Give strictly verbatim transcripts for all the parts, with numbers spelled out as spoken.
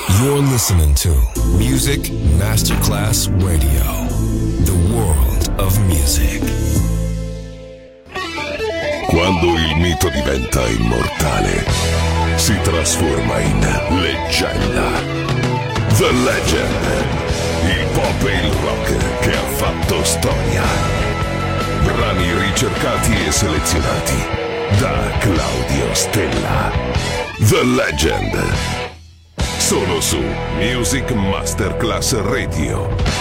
You're listening to Music Masterclass Radio, the world of music. Quando il mito diventa immortale, si trasforma in leggenda. The Legend, il pop e il rock che ha fatto storia. Brani ricercati e selezionati da Claudio Stella. The Legend, solo su Music Masterclass Radio.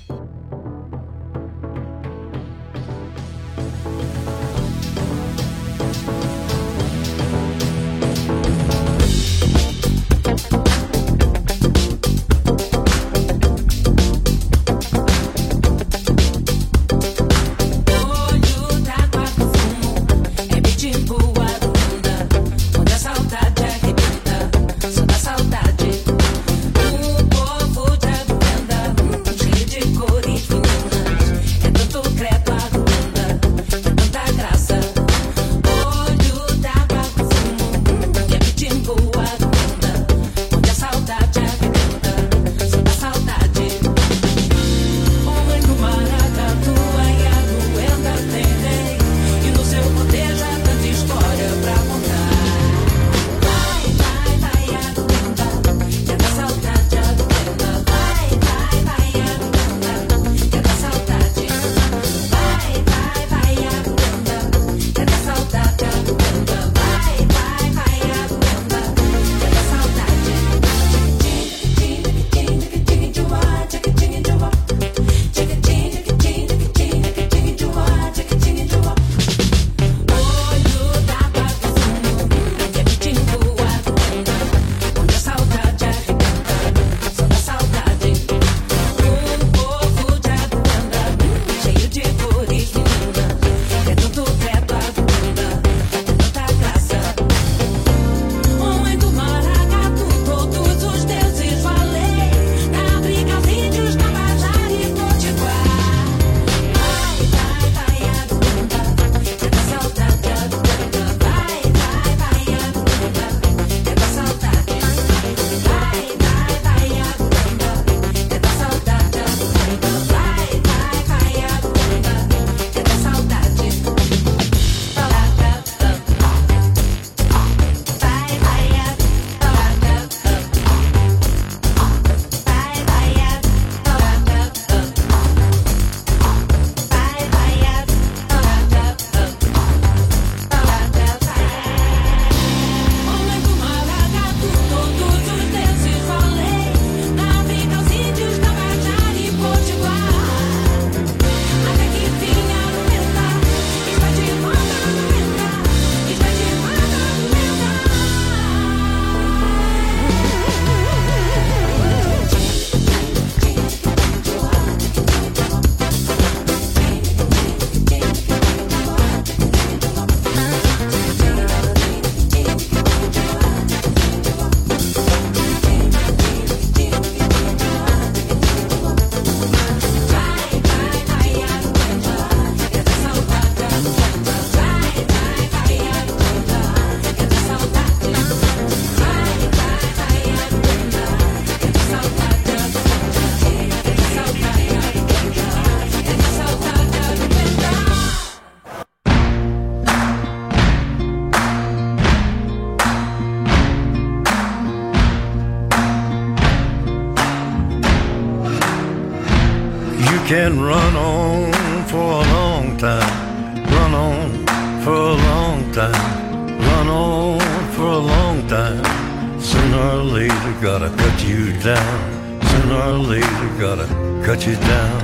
Can run on for a long time, run on for a long time, run on for a long time. Sooner or later gotta cut you down, sooner or later gotta cut you down.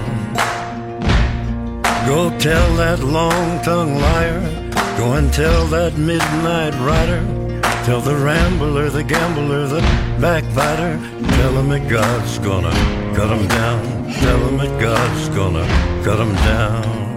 Go tell that long-tongued liar, go and tell that midnight rider, tell the rambler, the gambler, the backbiter, tell him that God's gonna cut him down. Tell him that God's gonna cut him down.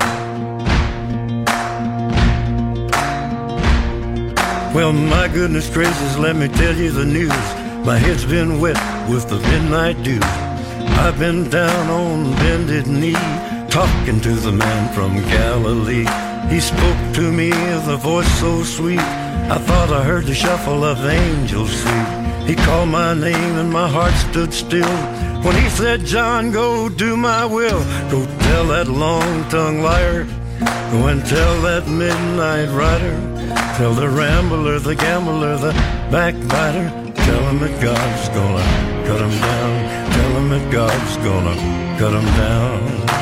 Well, my goodness gracious, let me tell you the news. My head's been wet with the midnight dew. I've been down on bended knee, talking to the man from Galilee. He spoke to me with a voice so sweet, I thought I heard the shuffle of angels sweet. He called my name and my heart stood still when he said, John, go do my will. Go tell that long-tongued liar. Go and tell that midnight rider. Tell the rambler, the gambler, the backbiter. Tell him that God's gonna cut him down. Tell him that God's gonna cut him down.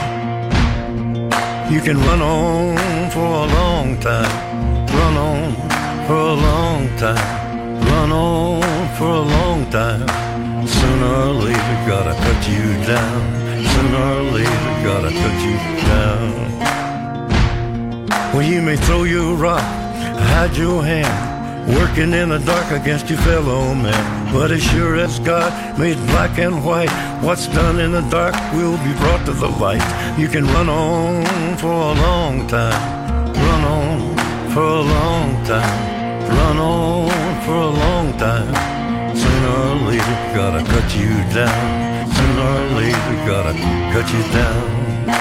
You can run on for a long time. Run on for a long time. Run on for a long time. Sooner or later gotta cut you down. Sooner or later gotta cut you down. Well, you may throw your rock, hide your hand, working in the dark against your fellow man. But as sure as God made black and white, what's done in the dark will be brought to the light. You can run on for a long time. Run on for a long time. Run on for a long time. Sooner or later gotta cut you down. Sooner or later gotta cut you down.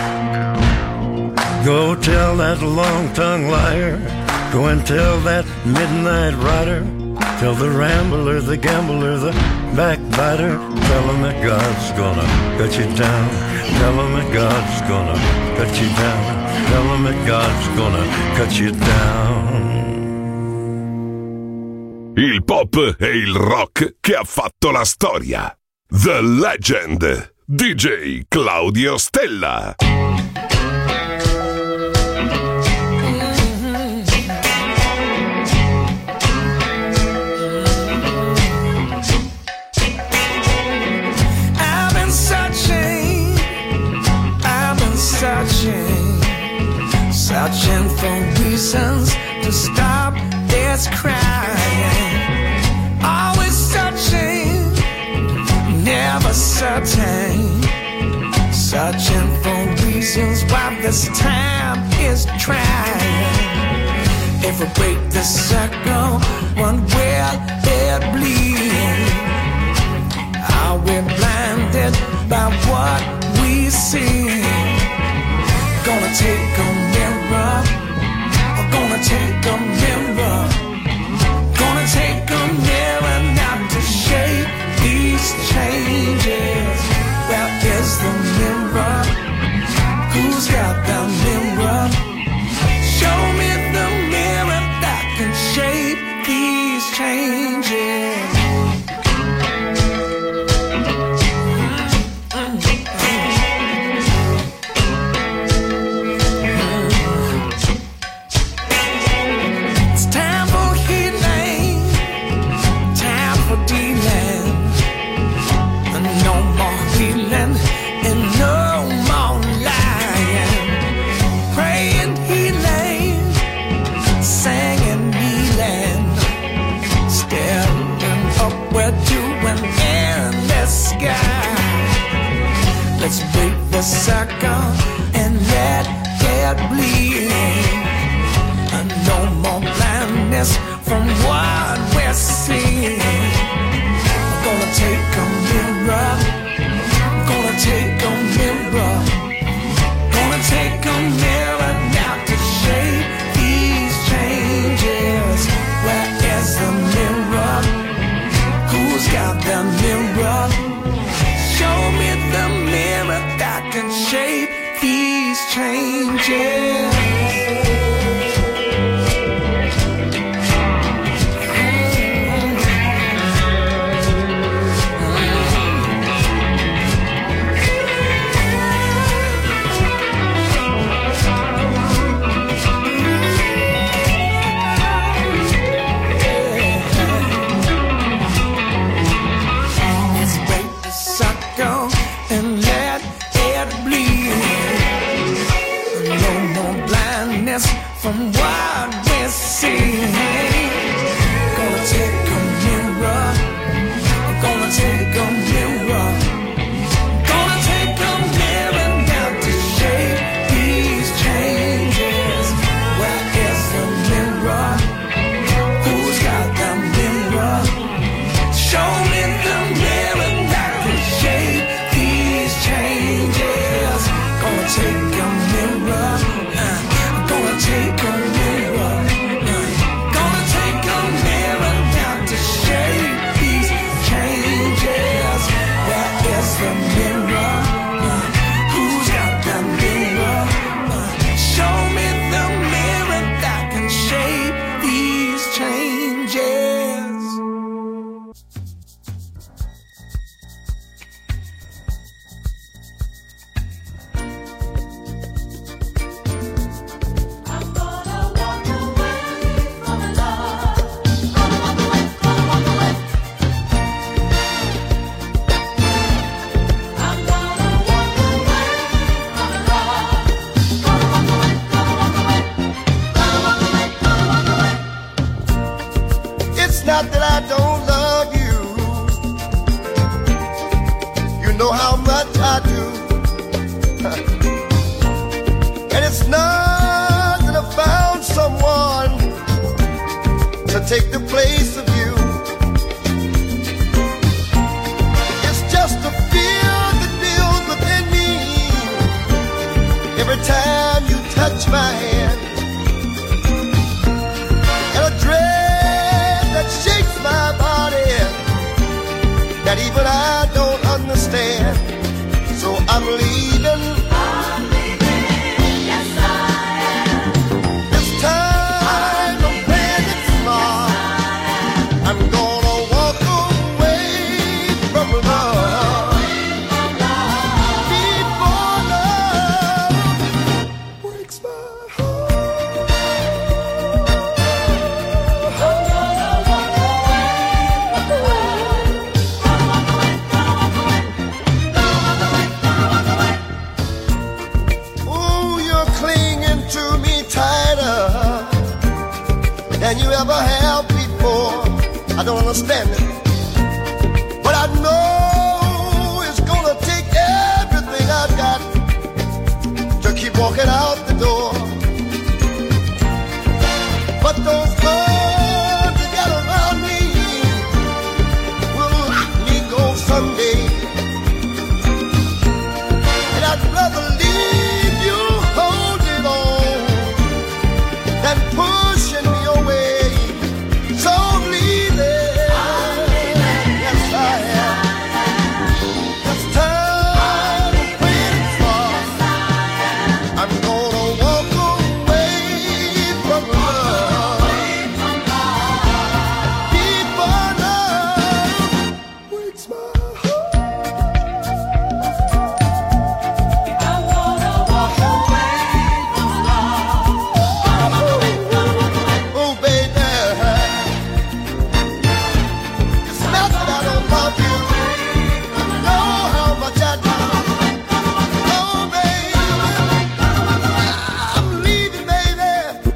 Go tell that long-tongued liar. Go and tell that midnight rider. Tell the rambler, the gambler, the backbiter. Tell him that God's gonna cut you down. Tell him that God's gonna cut you down. Tell him that God's gonna cut you down. Il pop e il rock che ha fatto la storia. The Legend, D J Claudio Stella. Searching, searching for reasons to stop this crying. Always searching, never certain. Searching for reasons why this time is trying. If we break the circle, one will it bleed? Are we blinded by what we see? Gonna take a mirror, I'm gonna take a mirror, gonna take a mirror now to shape these changes. Where is the mirror? Who's got the mirror? Show me the mirror that can shape these changes. Let's break the circle and let it bleed. And no more blindness from what we're seeing. I'm gonna take a mirror, I'm gonna take a mirror, gonna take a mirror now to shape these changes. Where is the mirror? Who's got the mirror? Show me the mirror that can shape these changes. And let it bleed. No more know how much I do. And it's not that I found someone to take the place of you. It's just a fear that builds within me every time you touch my hand, and a dread that shakes my body that even I don't understand. So I'm leaving. I'm leaving, yes I am. This time I'm playing it smart. Yes, I'm gonna walk away from love. Before love breaks my heart. I'm gonna walk away from love. Ooh, you're clinging to me tighter than you ever have before. I don't understand it, but I know it's gonna take everything I've got to keep walking out the door. But those arms you got around me will let me go someday. And I'd rather leave you holding on than pushing me away. So I'm leaving. Yes, I am. This time I'm playing it smart. I'm gonna walk away from love. Before love breaks my heart. I'm gonna walk away from love. Oh, baby, it's not that I don't love you. You know how much I do. Oh, baby, I'm leaving, baby.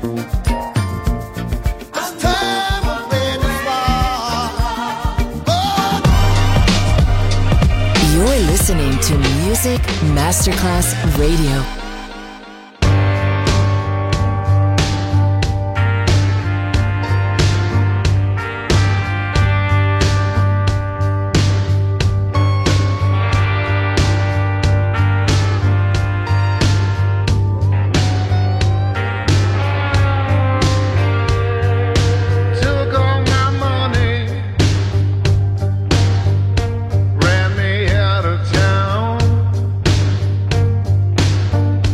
This time I'm playing it smart. Oh, You're listening to Music Masterclass Radio. Took all my money, ran me out of town.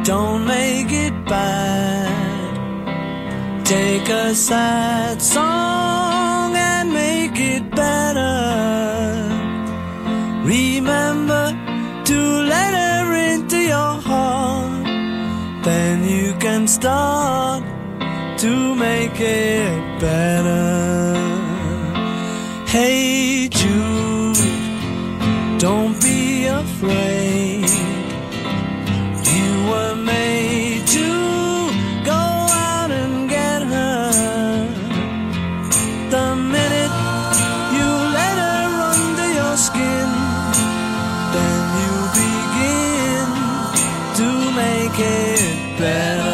don't make it bad. Take a sad song and make it better. Remember to let her into your heart. Then you can start to make it better. Hey Jude, don't be afraid. You were made to go out and get her. The minute you let her under your skin, then you begin to make it better.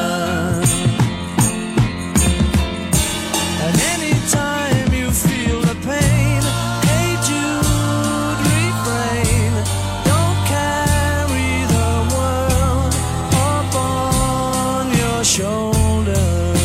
And anytime you feel the pain, hey Jude, refrain. Don't carry the world upon your shoulder.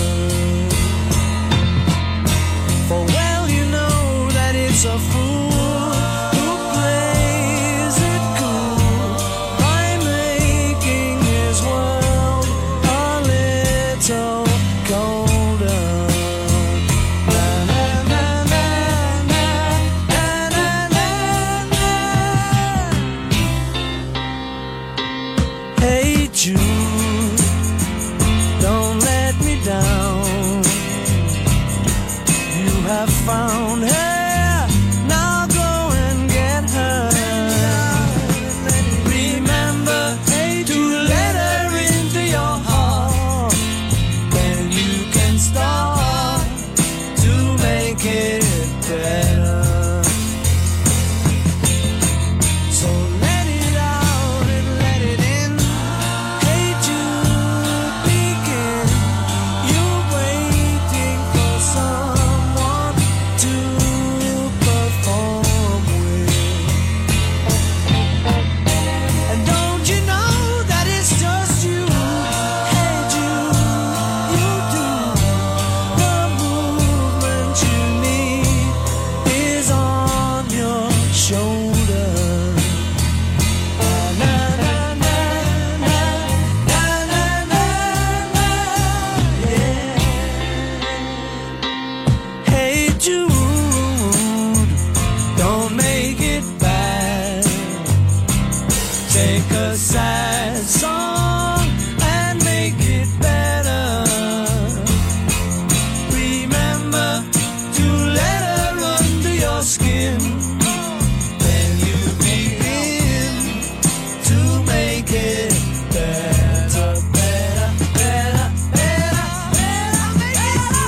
For well you know that it's a fool who plays it cool by making his world a little colder. Na, na, na, na, na, na, na, na, na. Hey Jude, don't let me down. You have found her, now go and get her. Remember to let her into your heart. Then you can start to make it better. So let it out and let it in. Hey Jude, begin. You're waiting for someone to perform with. And don't you know that it's just you? Hey Jude, you do. The movement you need is on your shoulder. Na, na, na, na, na, na, na, na, yeah. Hey Jude, don't make it bad. Take a sad song and make it better. Remember to let her under your skin. Then you begin to make it better, better, better, better, better, better.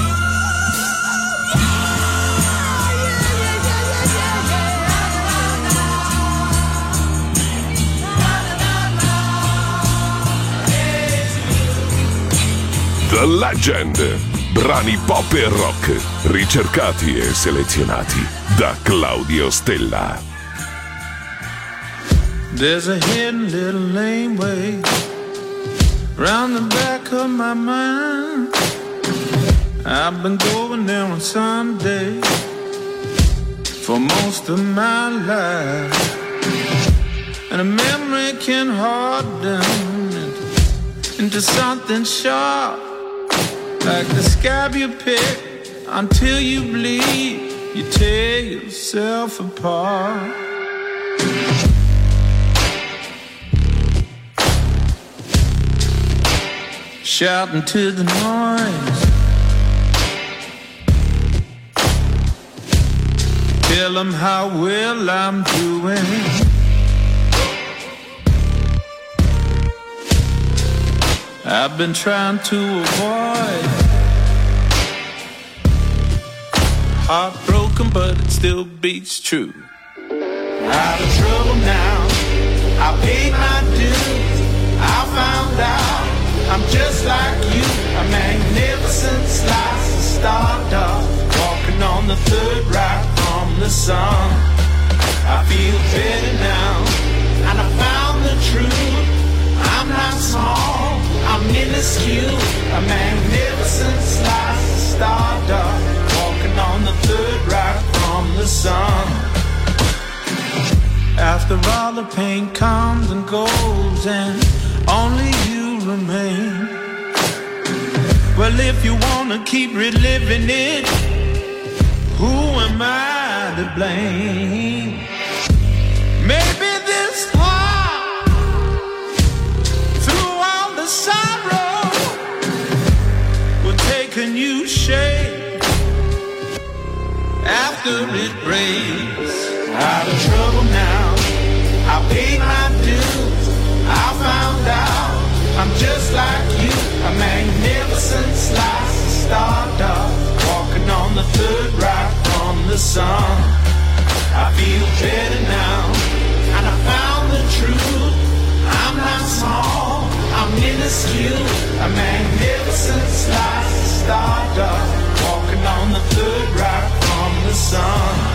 The Legend. Brani pop e rock, ricercati e selezionati da Claudio Stella. There's a hidden little laneway round the back of my mind. I've been going there on Sunday for most of my life, and a memory can harden into, into something sharp, like the scab you pick until you bleed. You tear yourself apart. Shouting to the noise, tell them how well I'm doing. I've been trying to avoid heartbroken, but it still beats true. Out of trouble now, I paid my dues. I found out I'm just like you, a magnificent slice of stardust, walking on the third right from the sun. I feel better now, and I found the truth. I'm not small, I'm minuscule, a magnificent slice of stardust, walking on the third right from the sun. After all the pain comes and goes, and only you remain. Well, if you wanna keep reliving it, who am I to blame? Maybe this heart, through all the sorrow, will take a new shape after it breaks. Out of trouble now, I paid my dues, I found out I'm just like you, a magnificent slice of stardust, walking on the third right from the sun. I feel better now, and I found the truth. I'm not small, I'm minuscule, a magnificent slice of stardust, walking on the third right from the sun.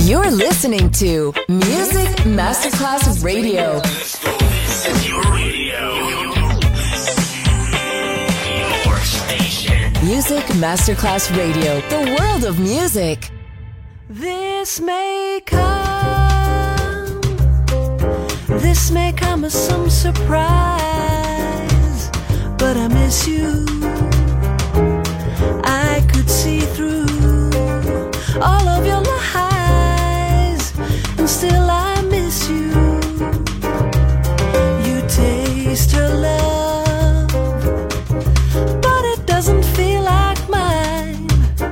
You're listening to Music Masterclass Radio. This is your radio. Your station. Music Masterclass Radio. The world of music. This may come, this may come as some surprise, but I miss you. I could see through all of your lies, and still I miss you. You taste her love, but it doesn't feel like mine.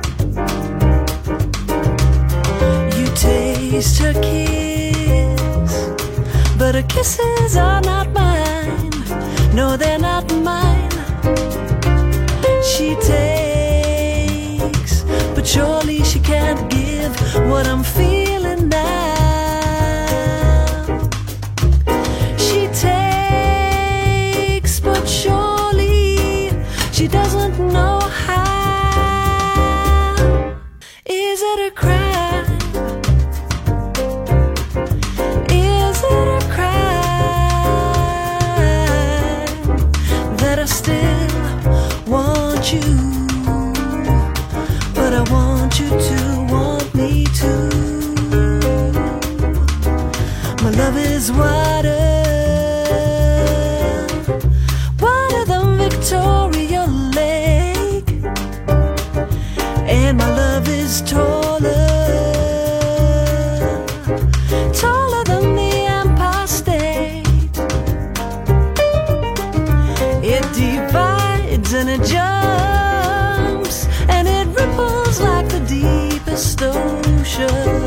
You taste her kiss, but her kisses are not mine. No, they're not mine. She takes, but surely she can't give what I'm feeling now. She takes, but surely she doesn't know how. Is it a crime? Is it a crime that I still want you, but I want you to want me too? My love is wider, wider than Victoria Lake, and my love is taller, taller than the Empire State. It divides and it jumps and it ripples like the deepest ocean.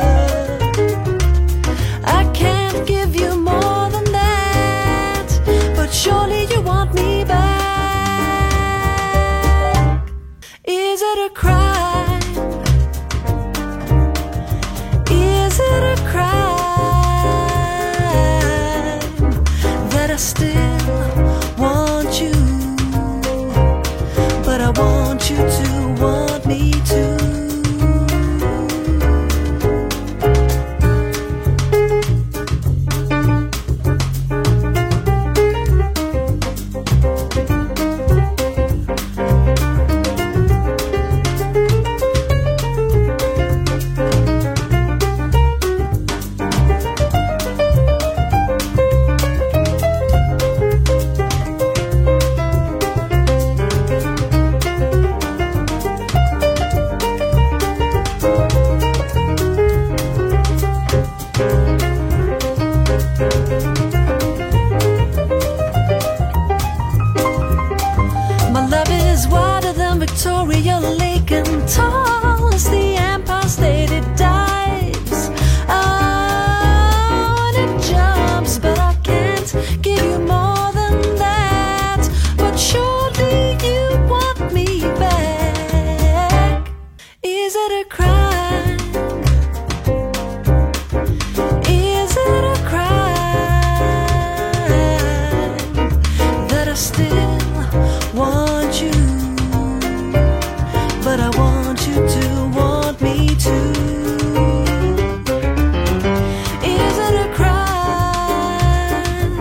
I can't give you more than that, but surely you want me back. Is it a crime? Is it a crime that I still want you, but I want you to want me too? My love is wider than Victoria Lake and tall as the Empire State. It dives, oh, and it jumps, but I can't give you more than that. But surely you want me back. Is it a crime? Is it a crime that I still want you, but I want you to want me too? Is it a crime?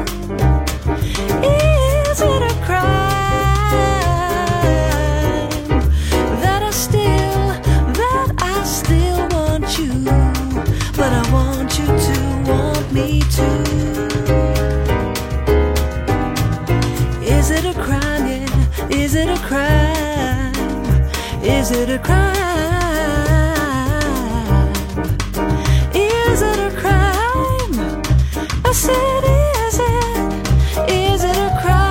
Is it a crime that I still, that I still want you, but I want you to want me too? Is it a crime? Yeah. Is it a crime? Is it a crime? Is it a crime? I said, is it? Is it a crime?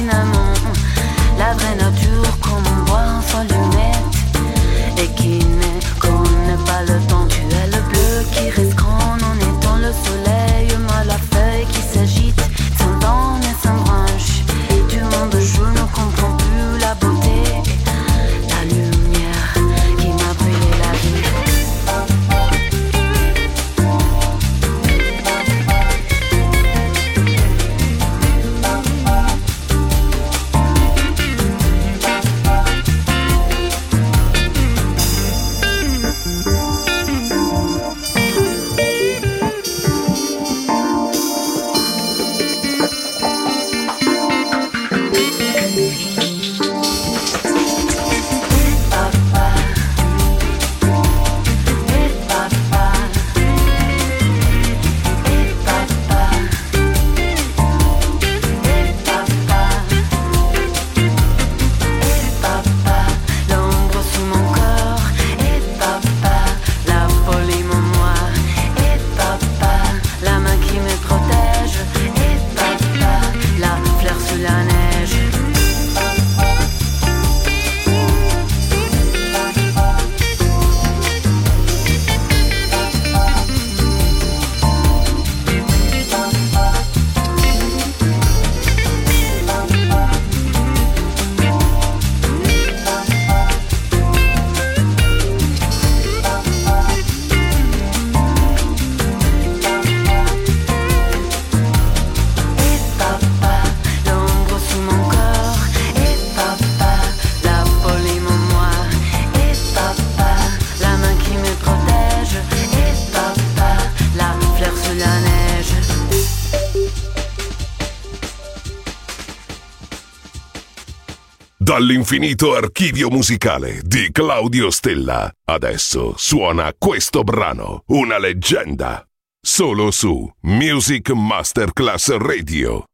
finalement la vraie nature comme on boit un faux lunette et qui ne connaît pas le temps. Tu es le bleu qui reste grand en étant le soleil, moi la feuille qui s'agite sans dents et sans branches du monde. Je ne comprends plus la beauté, la lumière qui m'a brûlé la vie. Dall'infinito archivio musicale di Claudio Stella, adesso suona questo brano, una leggenda, solo su Music Masterclass Radio.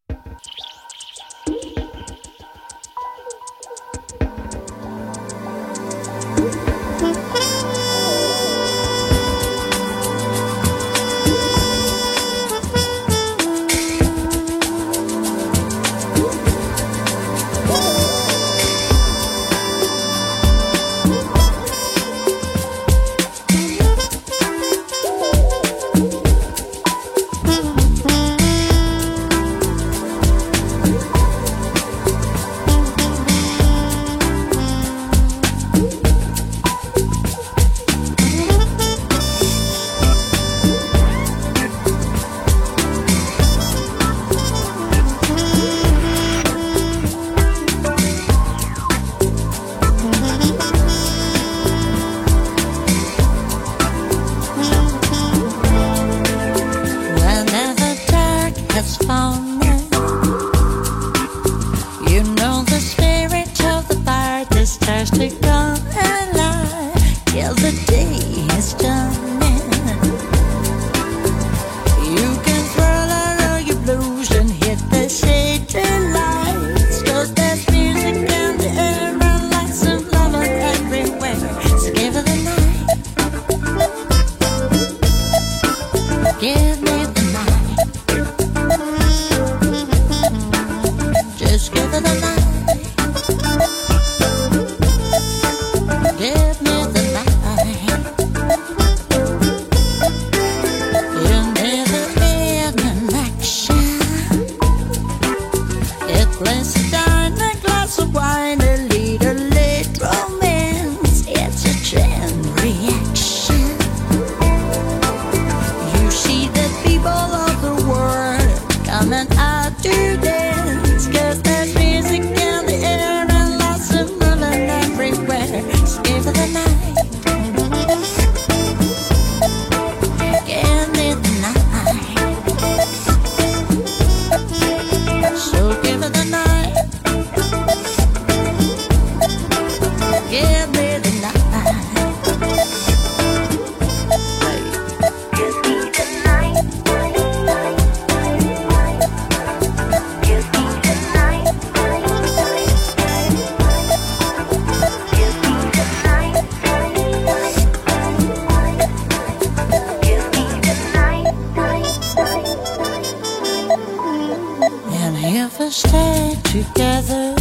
together.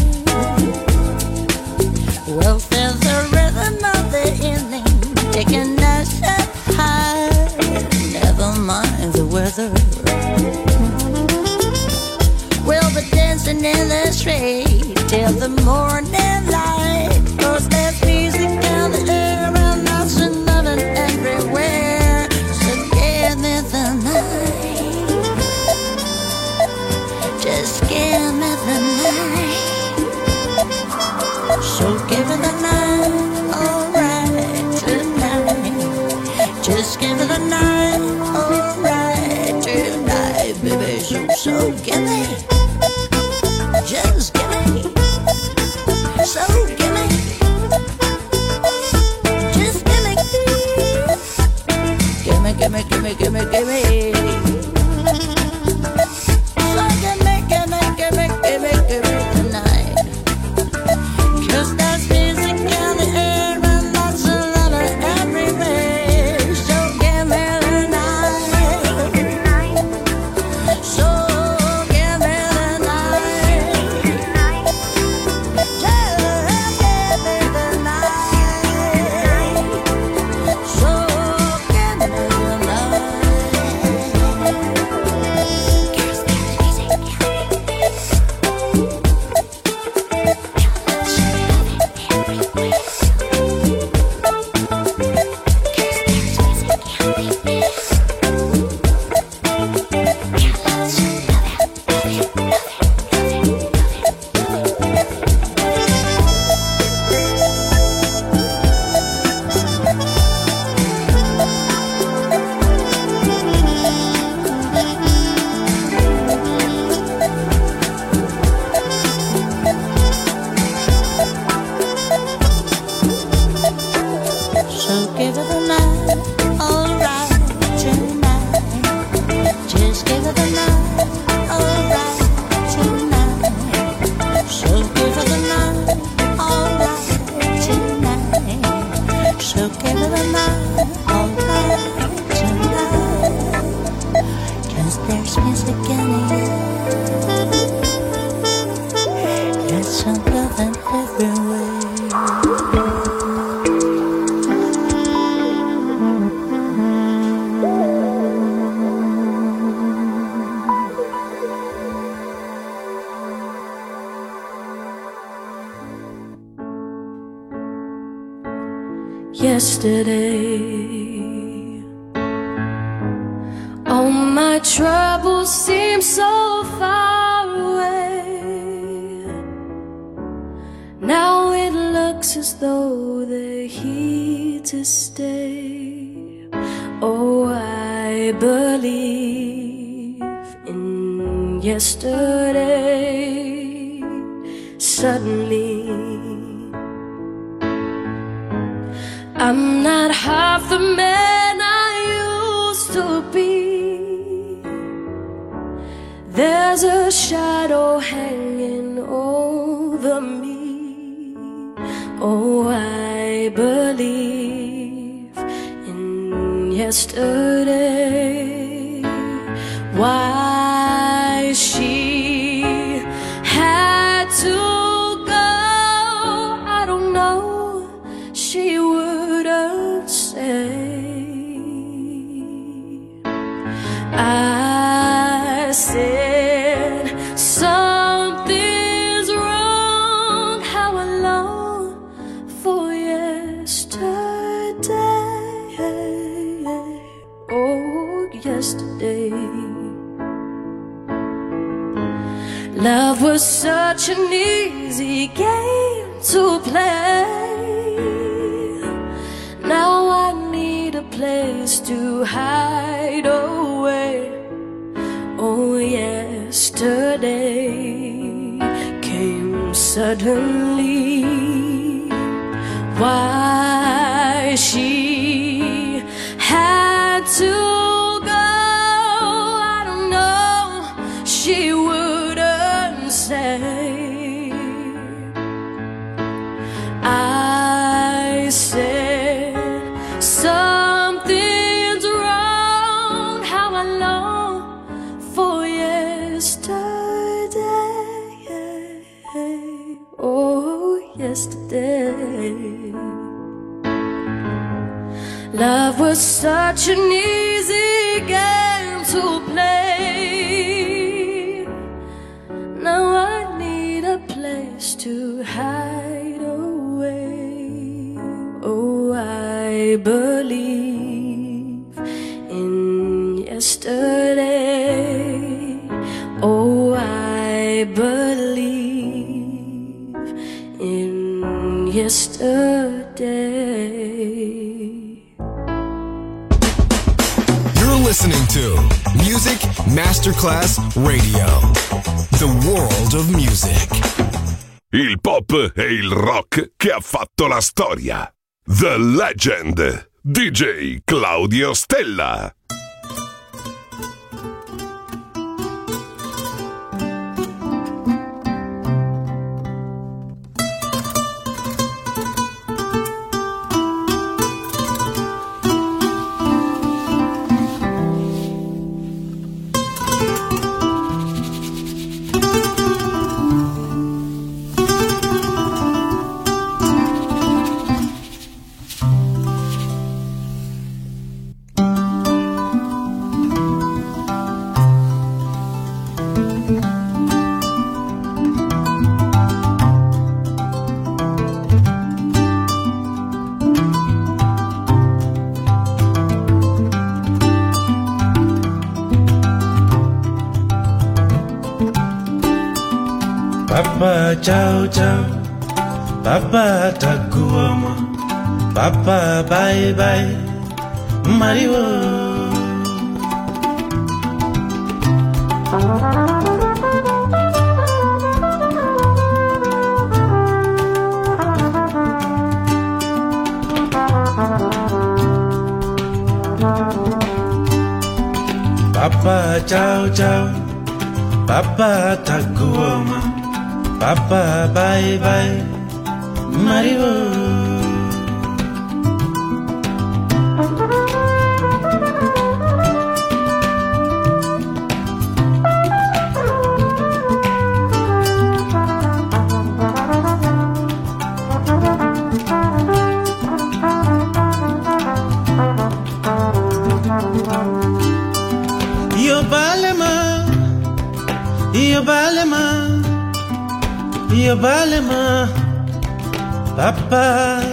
We'll feel the rhythm of the evening, taking us up high. Never mind the weather. We'll be dancing in the street till the morning light. 'Cause there's music in the air and lots of loving everywhere. So give me the night. Just give me the night. So give me the night, alright tonight. Just give me the night, alright tonight, baby. So, so give me, just give me, so give me, just give me, give me, give me, give me, give me, give me. So give me, give me, give me, give me, give me tonight. 'Cause there's music in the air and lots of love everywhere. So give me the night. So give me the night. Just give me the night. So give me the Yesterday, all my troubles seem so far away. Now it looks as though they're here to stay. Oh, I believe in yesterday. Suddenly, I'm not half the man I used to be. There's a shadow hanging over me. Oh, I believe in yesterday. Why she had to go, I don't know. She wouldn't say. I said something's wrong. How I long for yesterday. Oh, yesterday. Love was such an easy game to play. Now I need a place to hide away. Oh, yesterday came suddenly. Why she had to go, I don't know. She wouldn't say. I said something's wrong. How I long for yesterday. yesterday. Love was such an easy game to play. Now I need a place to hide away. Oh, I believe in yesterday. Oh, I believe in yesterday. You're listening to Music Masterclass Radio. The world of music. Il pop e il rock che ha fatto la storia. The Legend. D J Claudio Stella. Papa ciao ciao, Papa takuama, Papa bye bye, Mario. Papa ciao ciao, Papa takuama, Papa bye bye, Mario. Io balema, io balema, io balema, Papa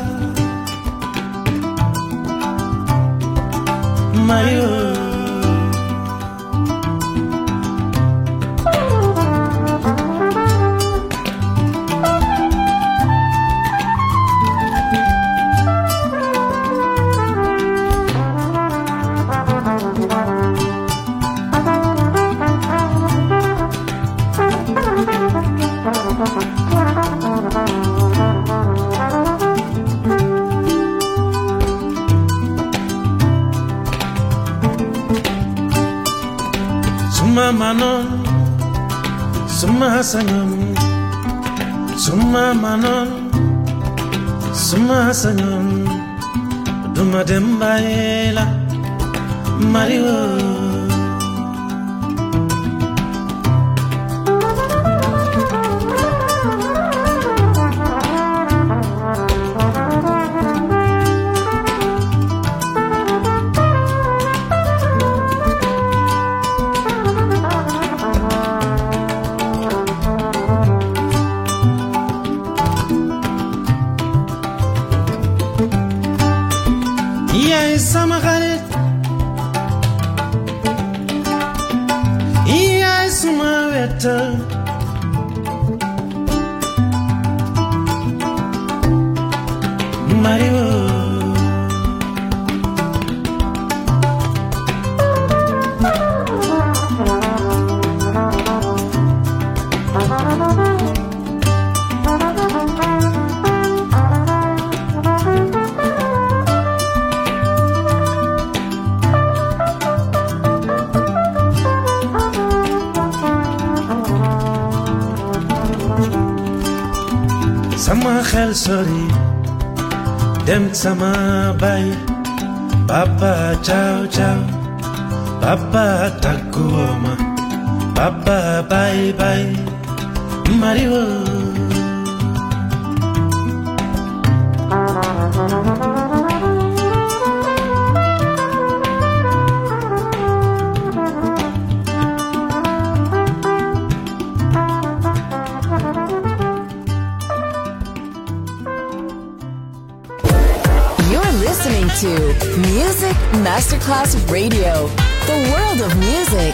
Mario. Suma manon, suma sanyon, suma manon, suma sanyon, duma dembaela, Mario. Iya sama khalit, iya suma weta, Mario. Sama khel sori dem sama bay, Papa ciao ciao, Papa takuoma, Papa bye bye, Mario. Listening to Music Masterclass Radio, the world of music.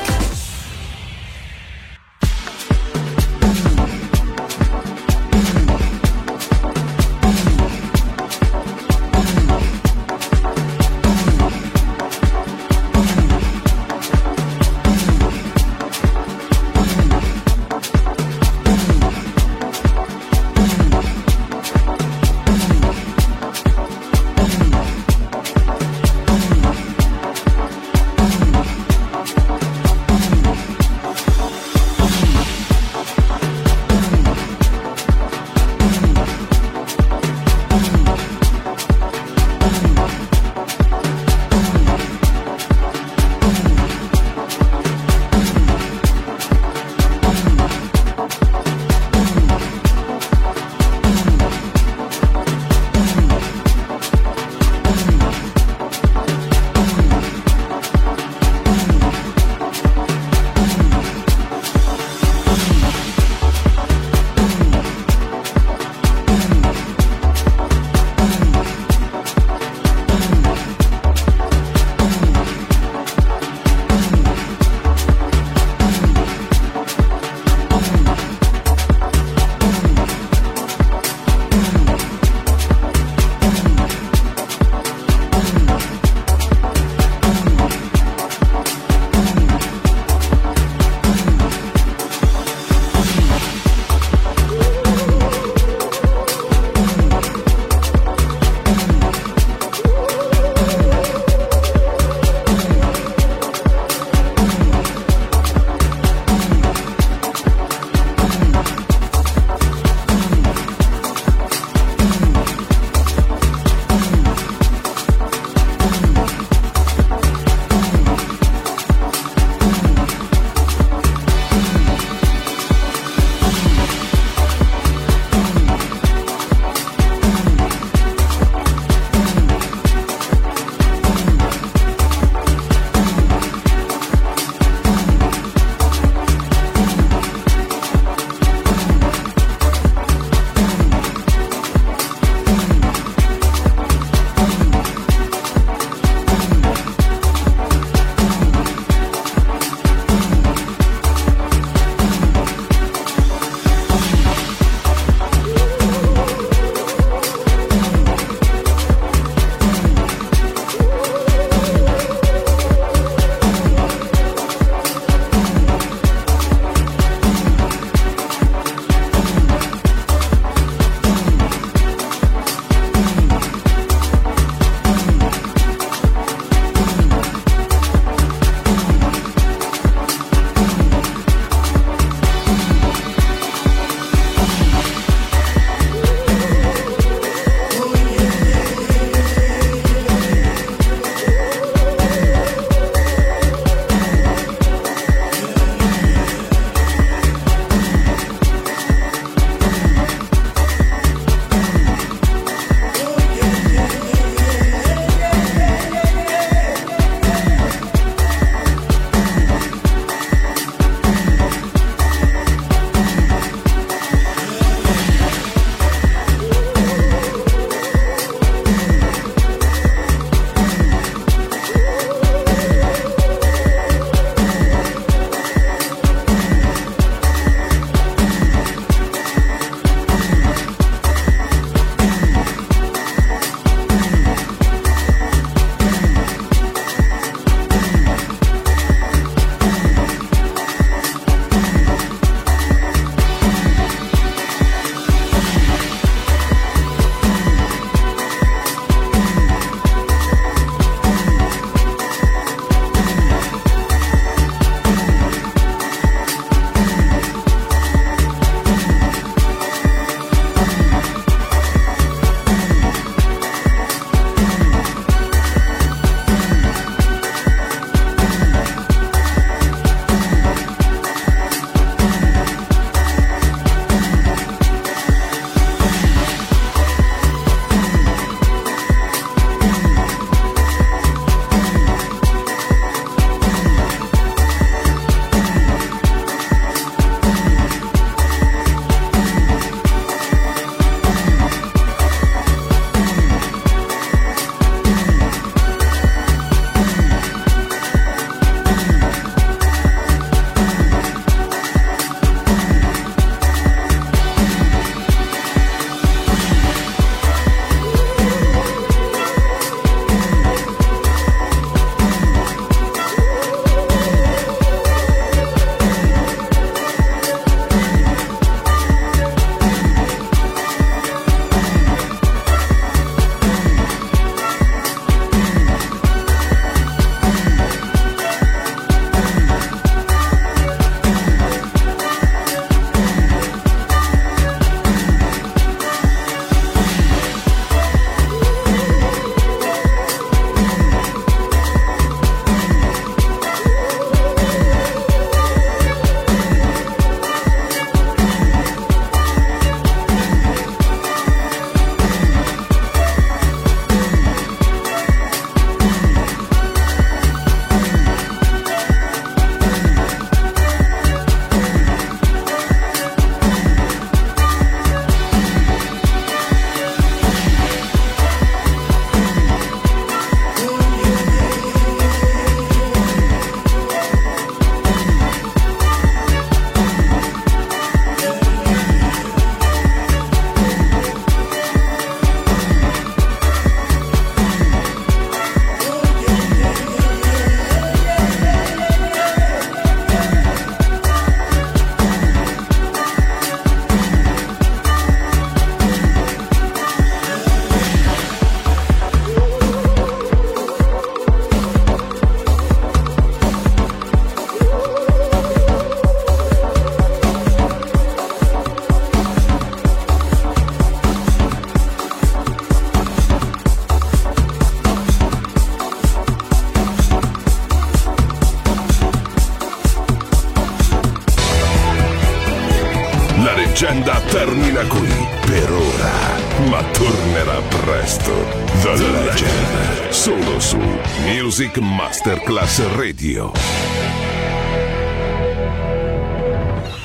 termina qui per ora, ma tornerà presto. The Legend, solo su Music Masterclass Radio.